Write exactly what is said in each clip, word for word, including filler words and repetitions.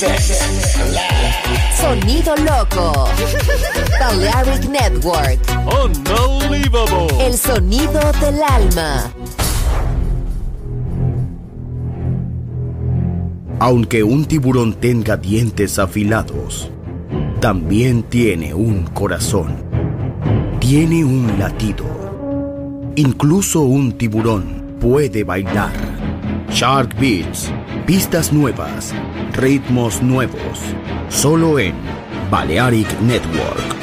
Sonido loco. Balearic Network. Unbelievable. El sonido del alma. Aunque un tiburón tenga dientes afilados, también tiene un corazón. Tiene un latido. Incluso un tiburón puede bailar. Shark Beats. Pistas nuevas. Ritmos nuevos. Solo en Balearic Network.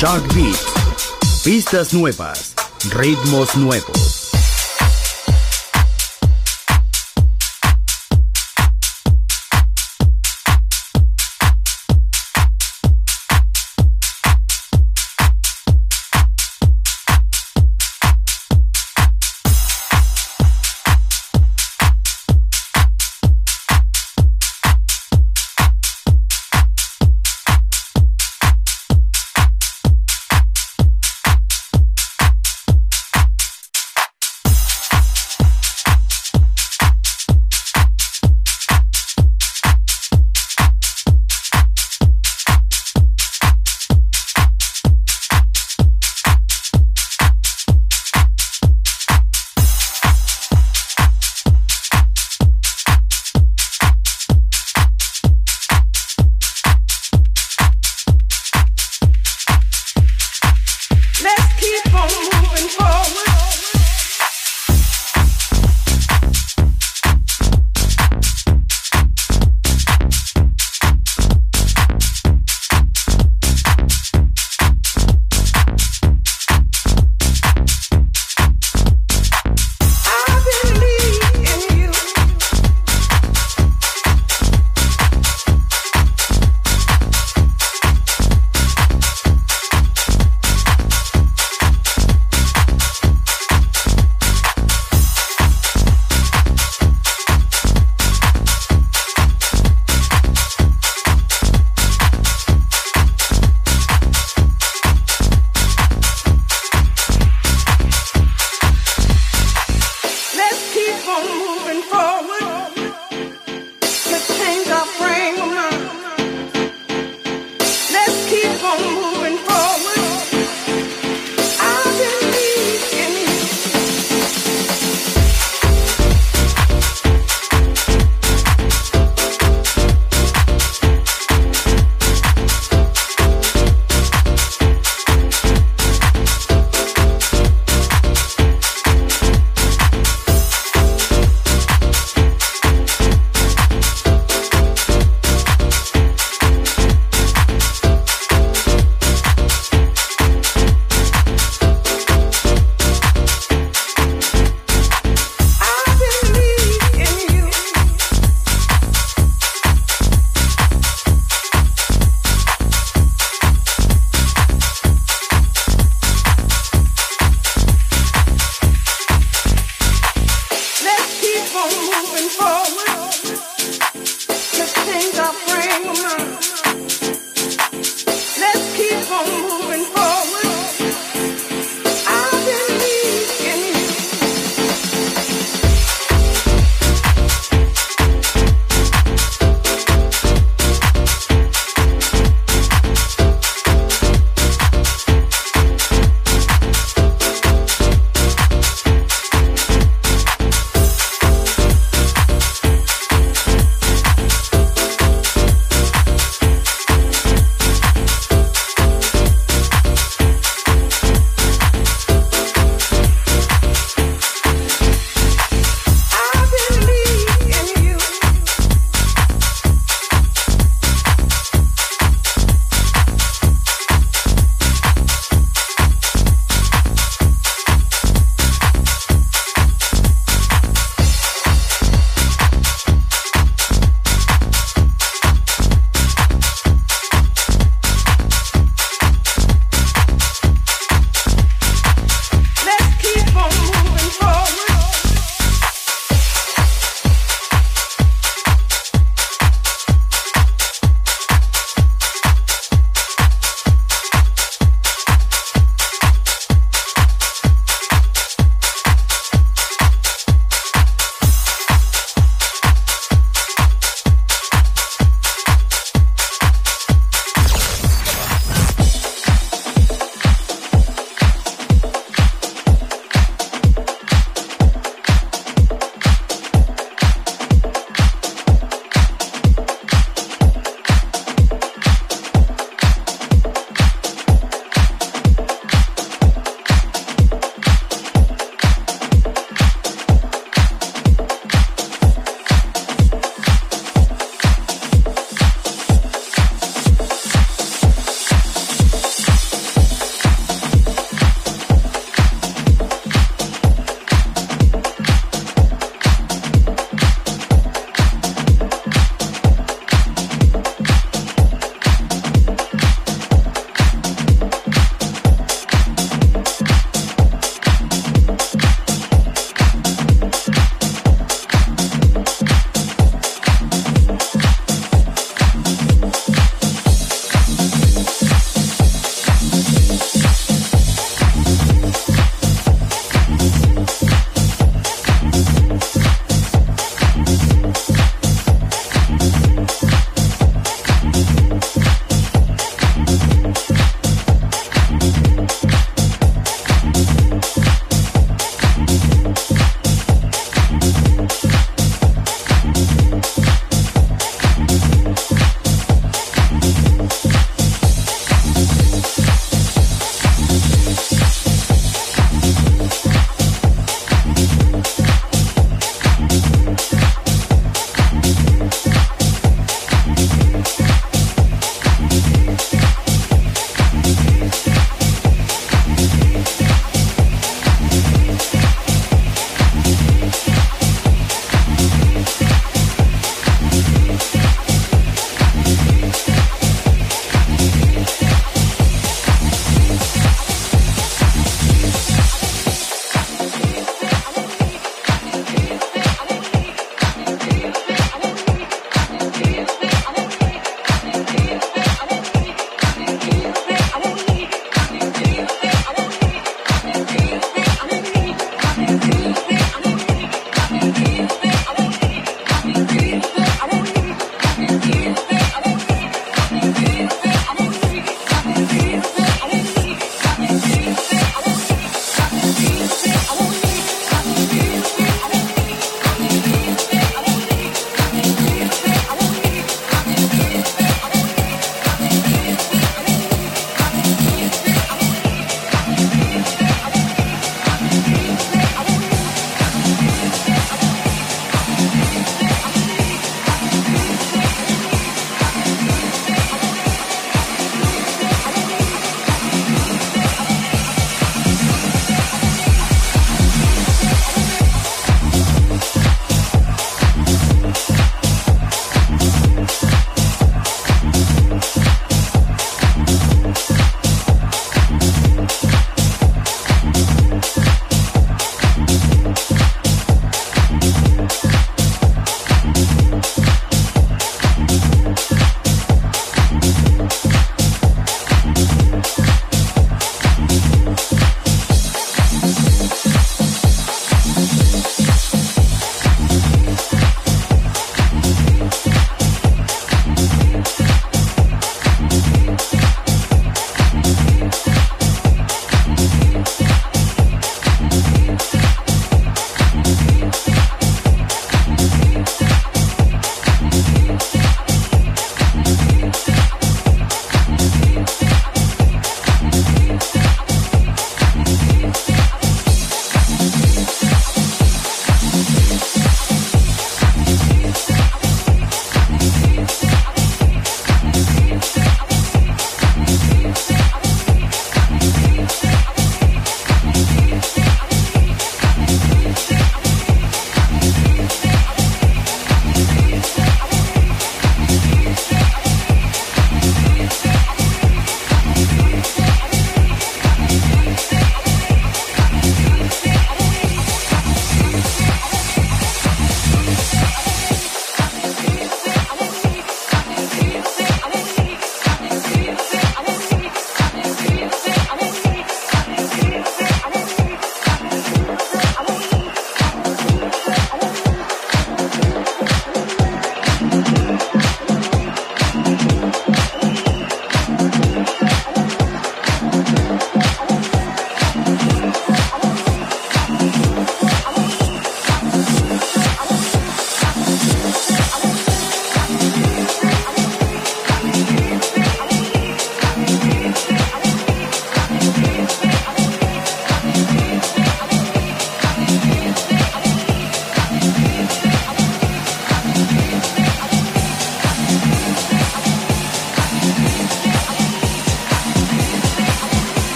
Shark Beats. Pistas nuevas, ritmos nuevos.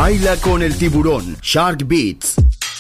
Baila con el tiburón. Shark Beats.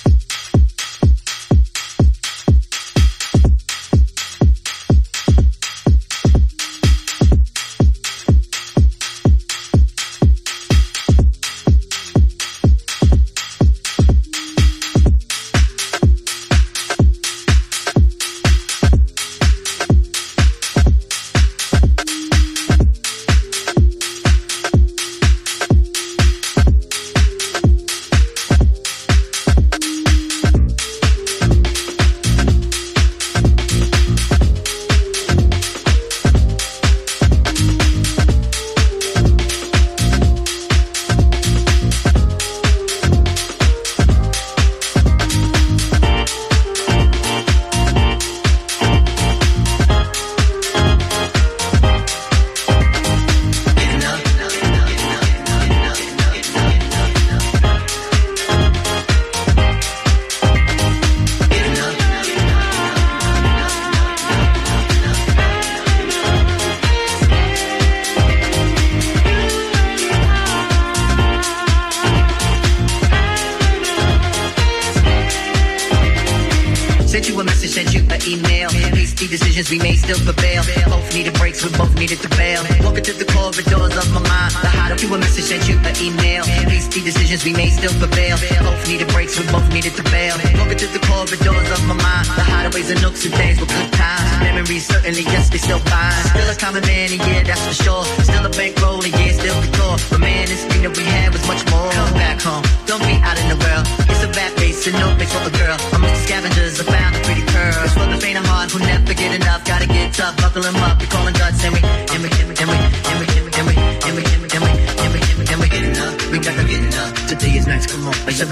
Decisions we made still prevail. Both needed breaks, we both needed to bail. Walking through the corridors of my mind. The hideout, you a message, sent you an email. Hasty decisions we made still prevail. Both needed breaks, we both needed to bail. Walking through the corridors of my mind. The hideaways and nooks and things were good times. Memories certainly, yes, they still fine. Still a common man, and yeah, that's for sure. Still a bankroll, and yeah, still the core. But man, this thing that we had was much more. Come back home, don't be out in the world. It's a bad race and no place for a girl. Amongst the scavengers, I found a pretty pearl. It's for the faint of heart who never get enough. Gotta get tough, buckle them up. We callin' guts and we, and we, and we, and we, and we, and we, and we, and we, and we, and we, and we, and we get enough. We gotta get enough. Today is nice, come on. I said we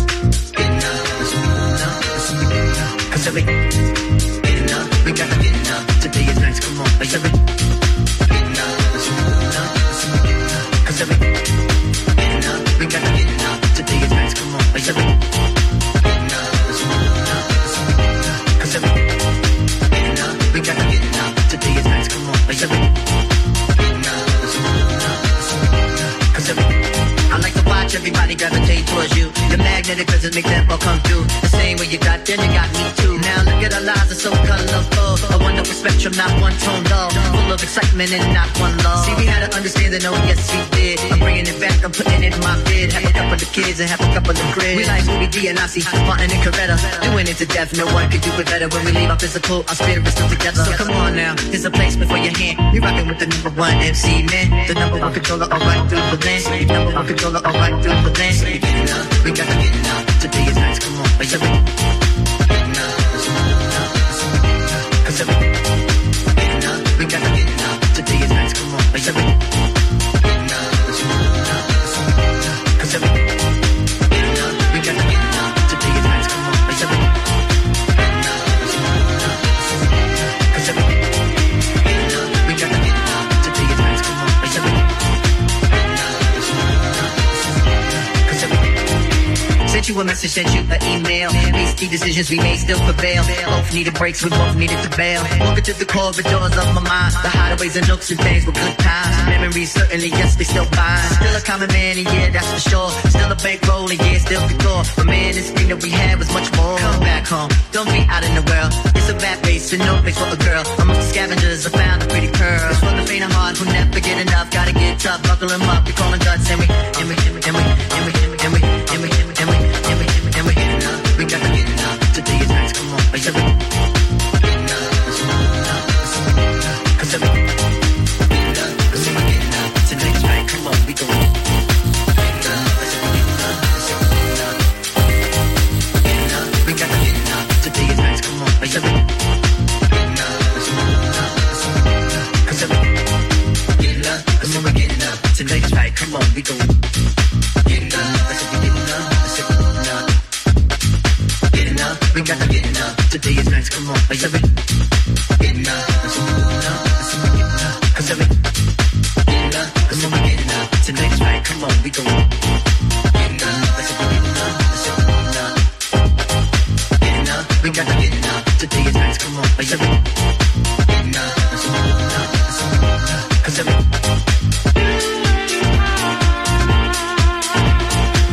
get enough. Cause we get enough. We gotta get enough. Today is nice, come on. I said we get enough. Cause we get enough. We gotta get enough. Today is nice, come on. I said we get enough. Cause we we gotta get enough. Today is nice, come on. Like every Cause every I like to watch everybody gravitate towards you. The magnetic resonance make them all come through. The same way you got them, you got me too. Now look at our lives, are so colorful. A wonderful spectrum, not one tone dull. Full of excitement and not one love. See, we had to understand that, oh yes we did. I'm bringing it back, I'm putting it in my bid. Have a couple of kids and have a couple of cribs. We like Louis D and Nazi, Martin and Coretta. Doing it to death, no one could do it better. When we leave our physical, our spirit is still together. So come on now, here's a placement for your hand. We rockin' with the number one M C, man. The number one controller, alright through the land. Number one controller, alright through the land. We get enough, we gotta get enough. Today is nice, come on. Like every get enough. Cause every get enough, we gotta get enough. Today is nice, come on. Like every get enough. Cause every get enough, we gotta get enough. Today is nice, come on. Like every get enough. Cause every get enough, we gotta get enough. Today is nice, come on. Like every Cause every sent you a message, sent you an email. Hasty decisions we made still prevail. Both needed breaks, we both needed to bail. Walking through the corridors of my mind. The hideaways and nooks and things were good times. Memories certainly, yes, they still fine. Still a common man, and yeah, that's for sure. Still a bankroll, and yeah, still the core. But man, this thing that we had was much more. Come back home, don't be out in the world. It's a bad race and no place for a girl. Amongst the scavengers, I found a pretty pearl. It's for the faint of heart who never get enough. Gotta get tough, buckle them up. We callin' guts and we, and we, and we, and we, and we, and we, and we, and we, and we, and we, and we, and we get enough. We gotta get enough. Today is nice, come on. Like every get enough. Cause every get enough. Cause every get enough. Today's right, come on, we go. Get enough. Get enough. We gotta get enough. Today is nice, come on. Like every get enough. Cause every get enough. Cause every get enough. Today's right, come on, we go. Get enough. Get enough. Get enough. We gotta get enough. Today is nice, come on. Like every get enough. Cause every get enough. Cause every get enough. Tonight's right, come on, we go. Get enough. Get enough. We gotta get enough. Today is nice, come on. Like every get enough. Cause every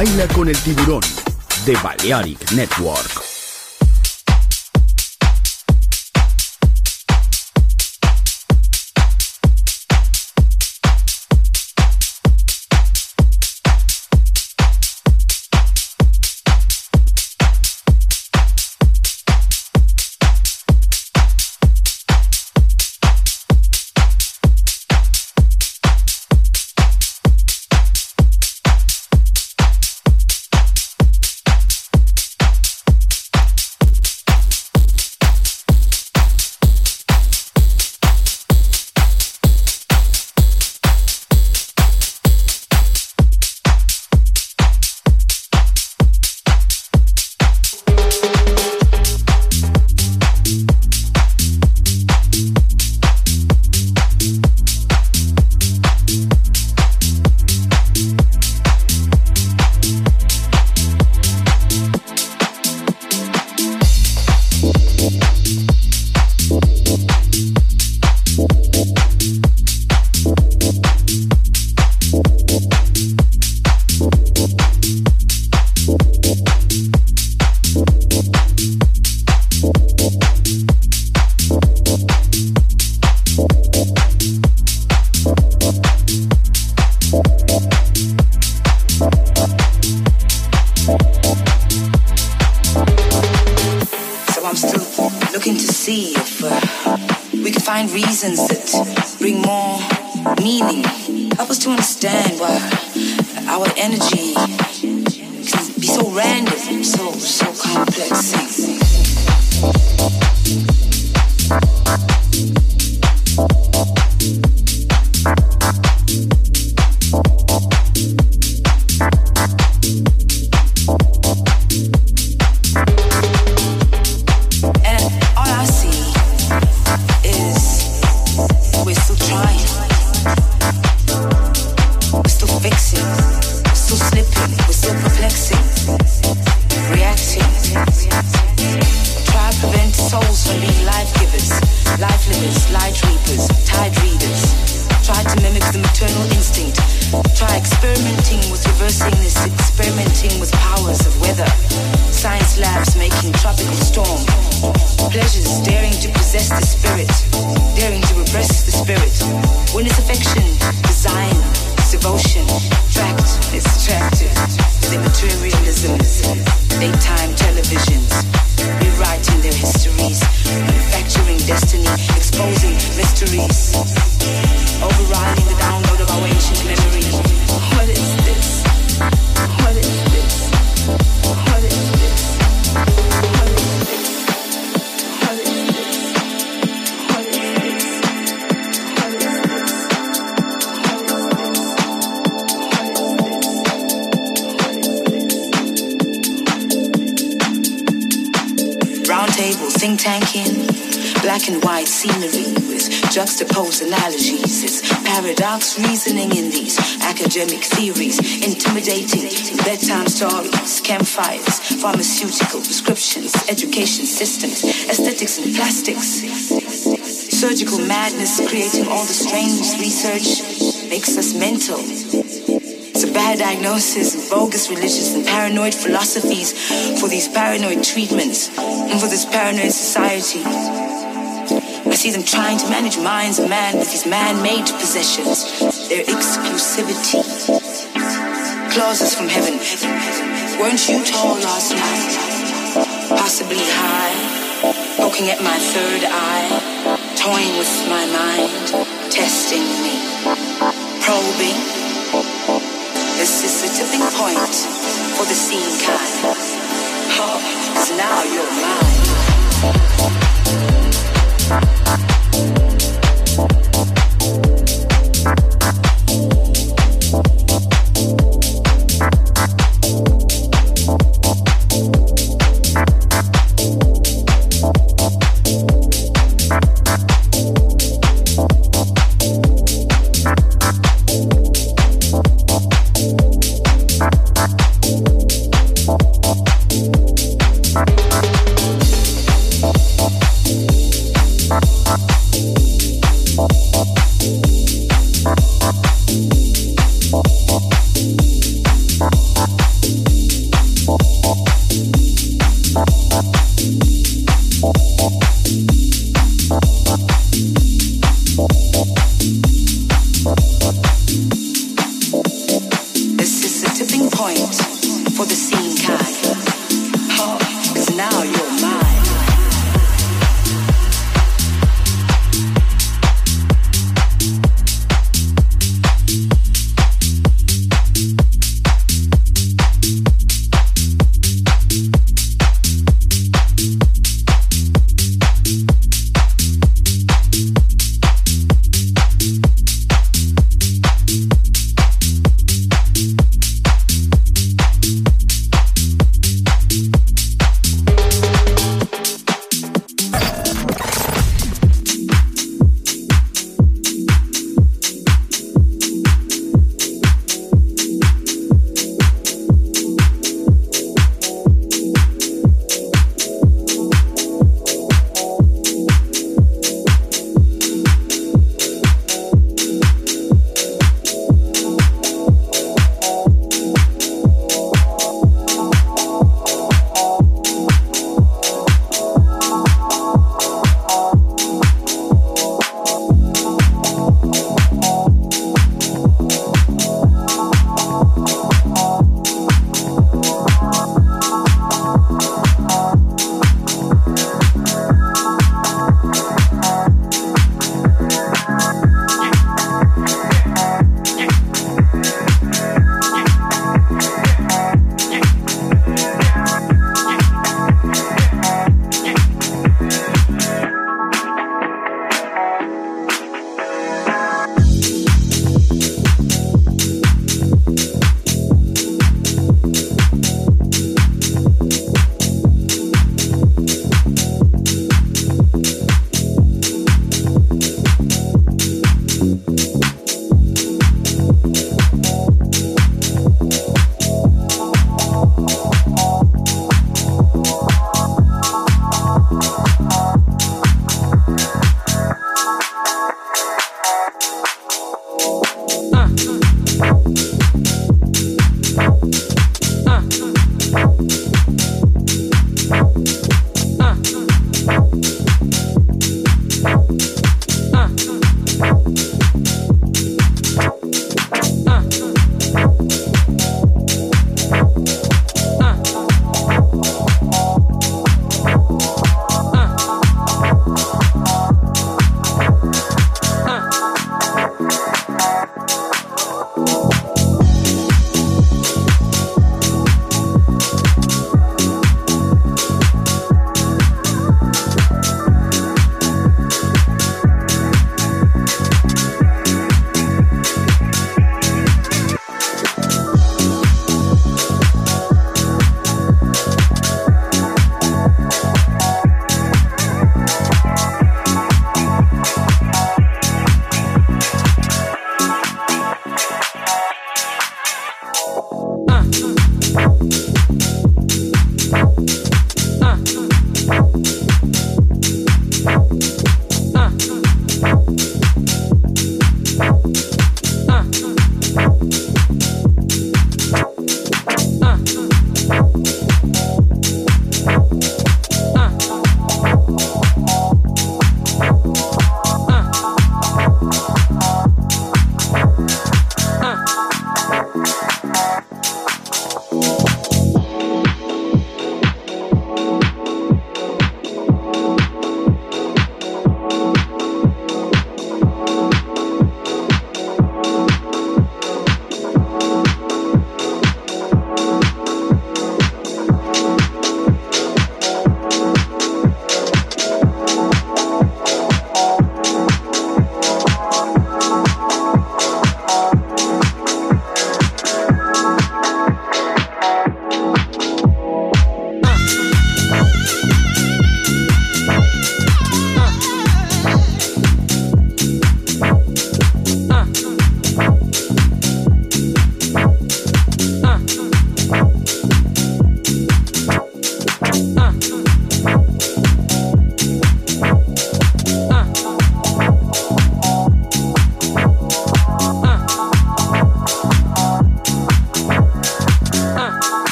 Baila con el tiburón de Balearic Network. Reasons that bring more meaning. Help us to understand why our energy can be so random, so so complex. Juxtapose analogies, it's paradox reasoning in these academic theories, intimidating bedtime stories, campfires, pharmaceutical prescriptions, education systems, aesthetics and plastics, surgical madness creating all the strange research makes us mental. It's a bad diagnosis, bogus religions and paranoid philosophies for these paranoid treatments and for this paranoid society. I see them trying to manage minds of man with these man-made possessions, their exclusivity. Clauses from heaven. Weren't you tall last night? Possibly high, poking at my third eye, toying with my mind, testing me, probing. This is the tipping point for the scene kind. Oh, 'cause now you're mine. This is the tipping point for the scene kind. Oh, it's now your mind.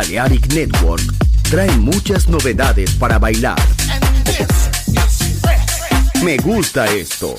Balearic Network trae muchas novedades para bailar. Me gusta esto.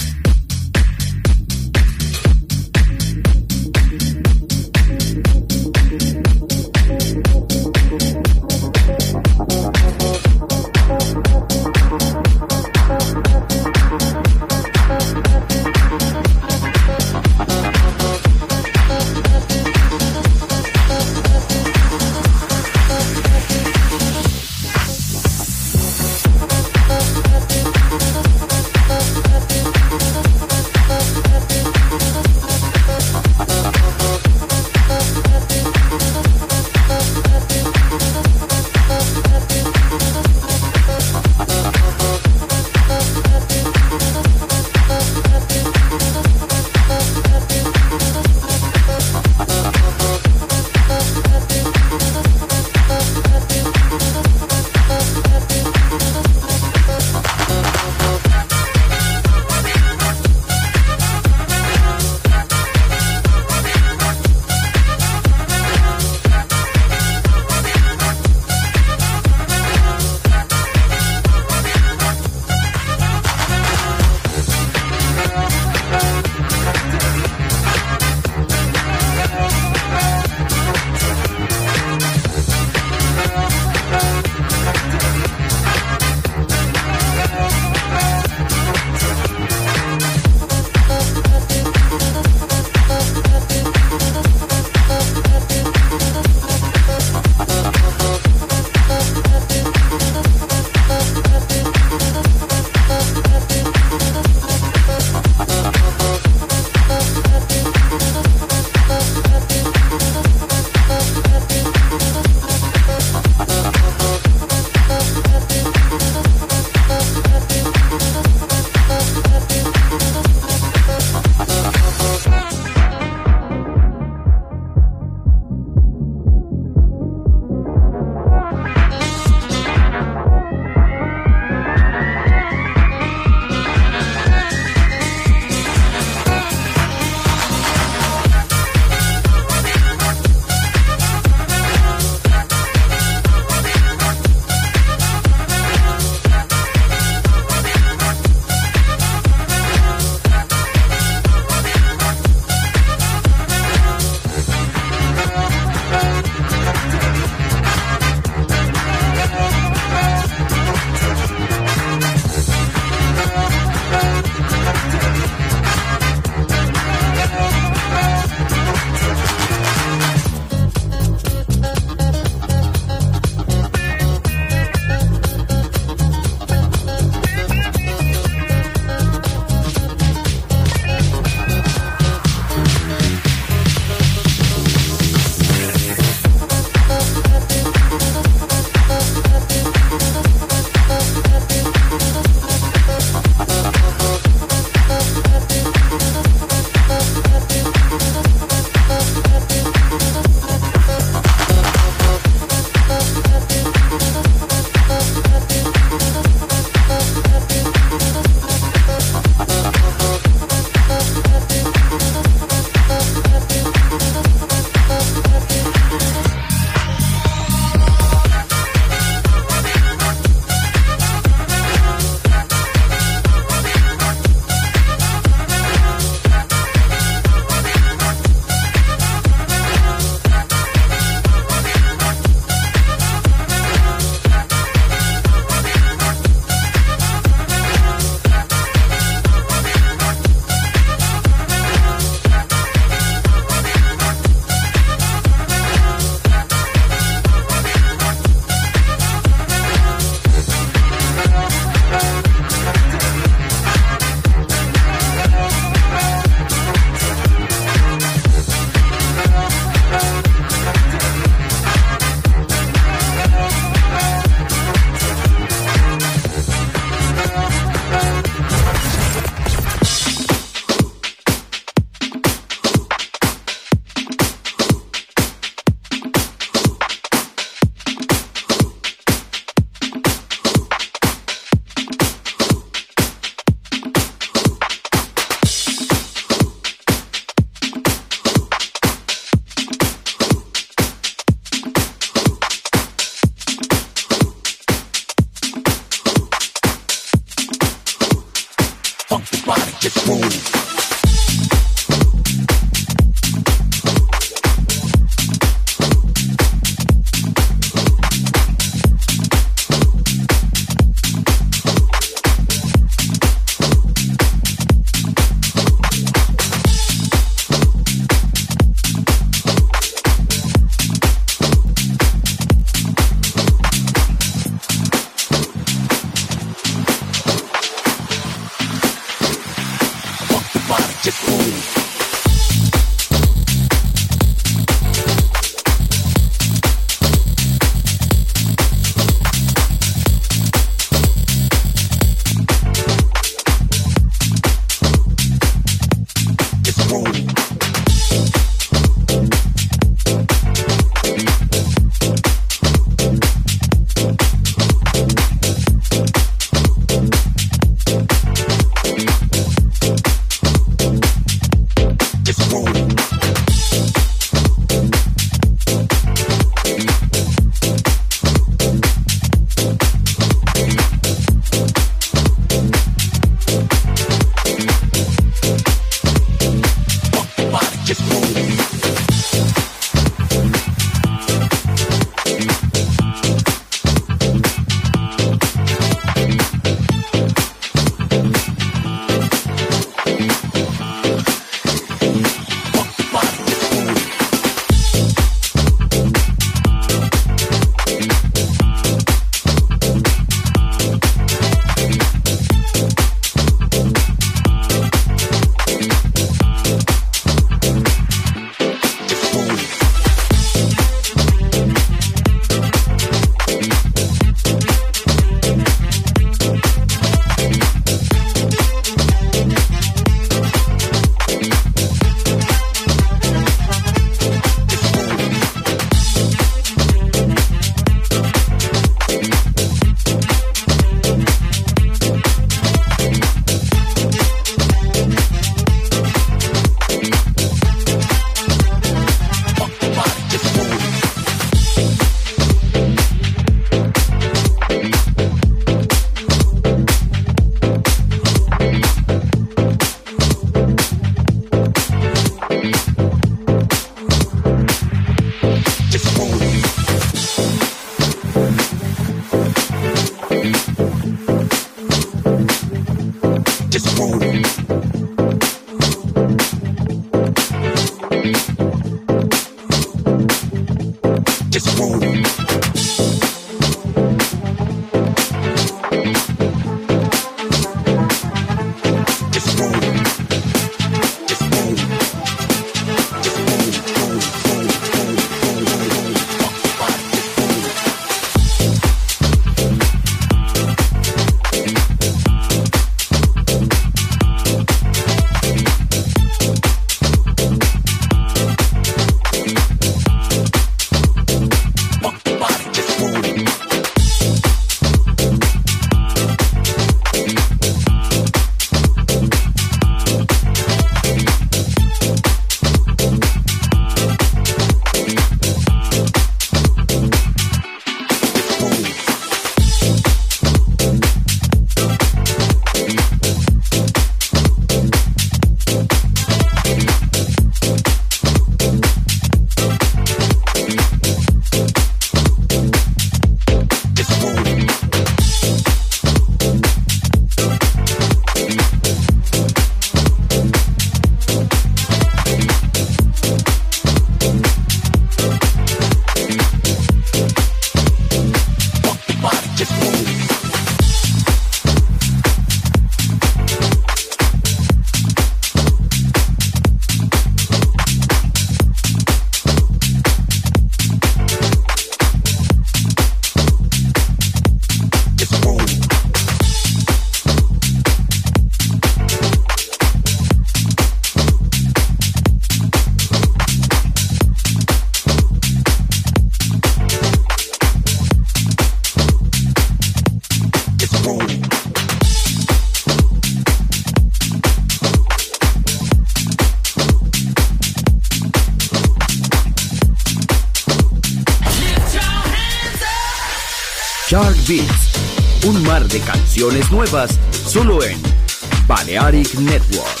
Shark Beats, un mar de canciones nuevas solo en Balearic Network.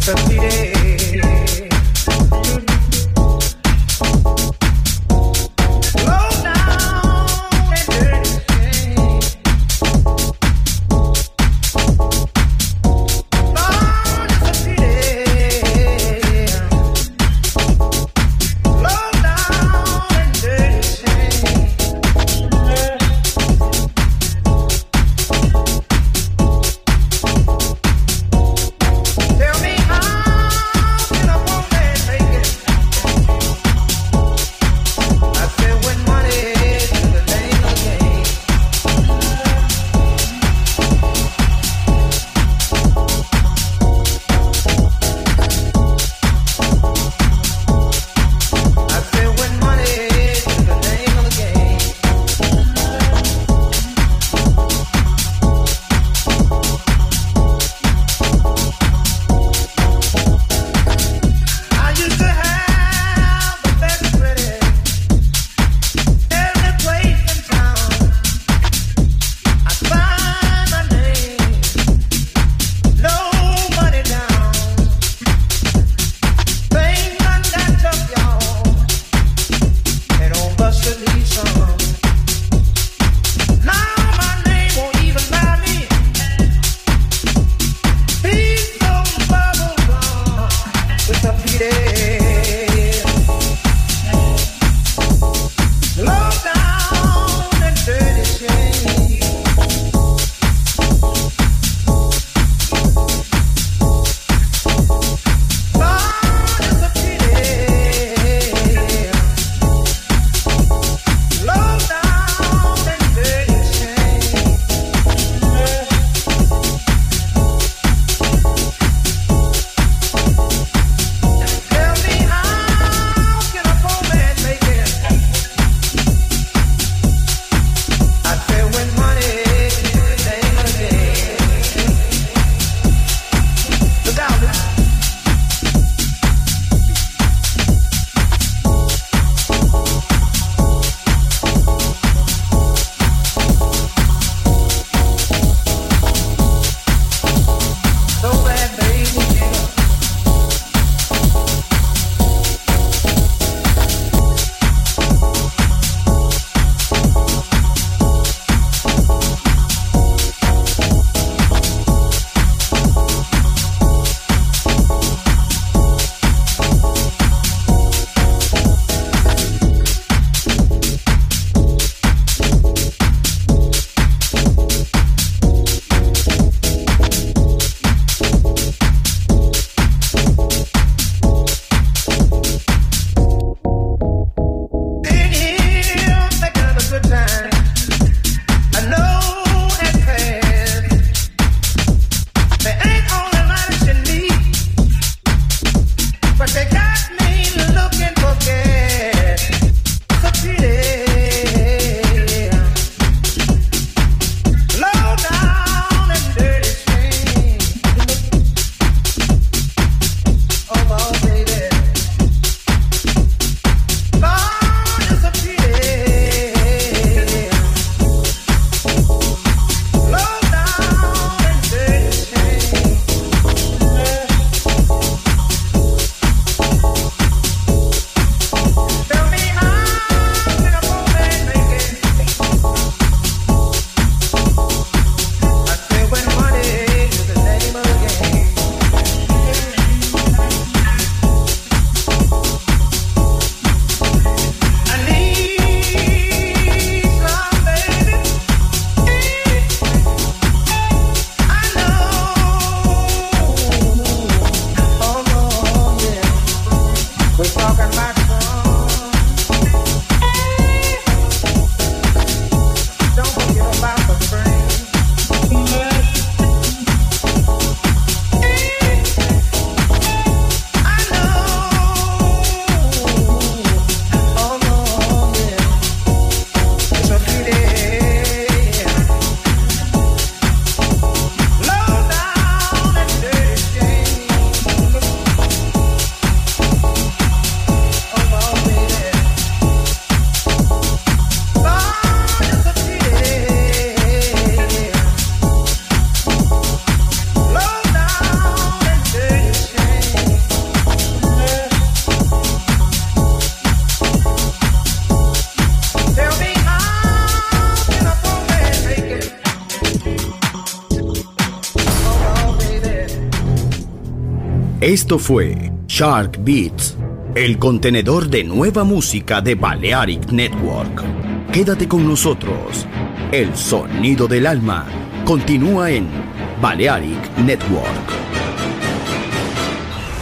Tell me how Esto fue Shark Beats, el contenedor de nueva música de Balearic Network. Quédate con nosotros. El sonido del alma continúa en Balearic Network.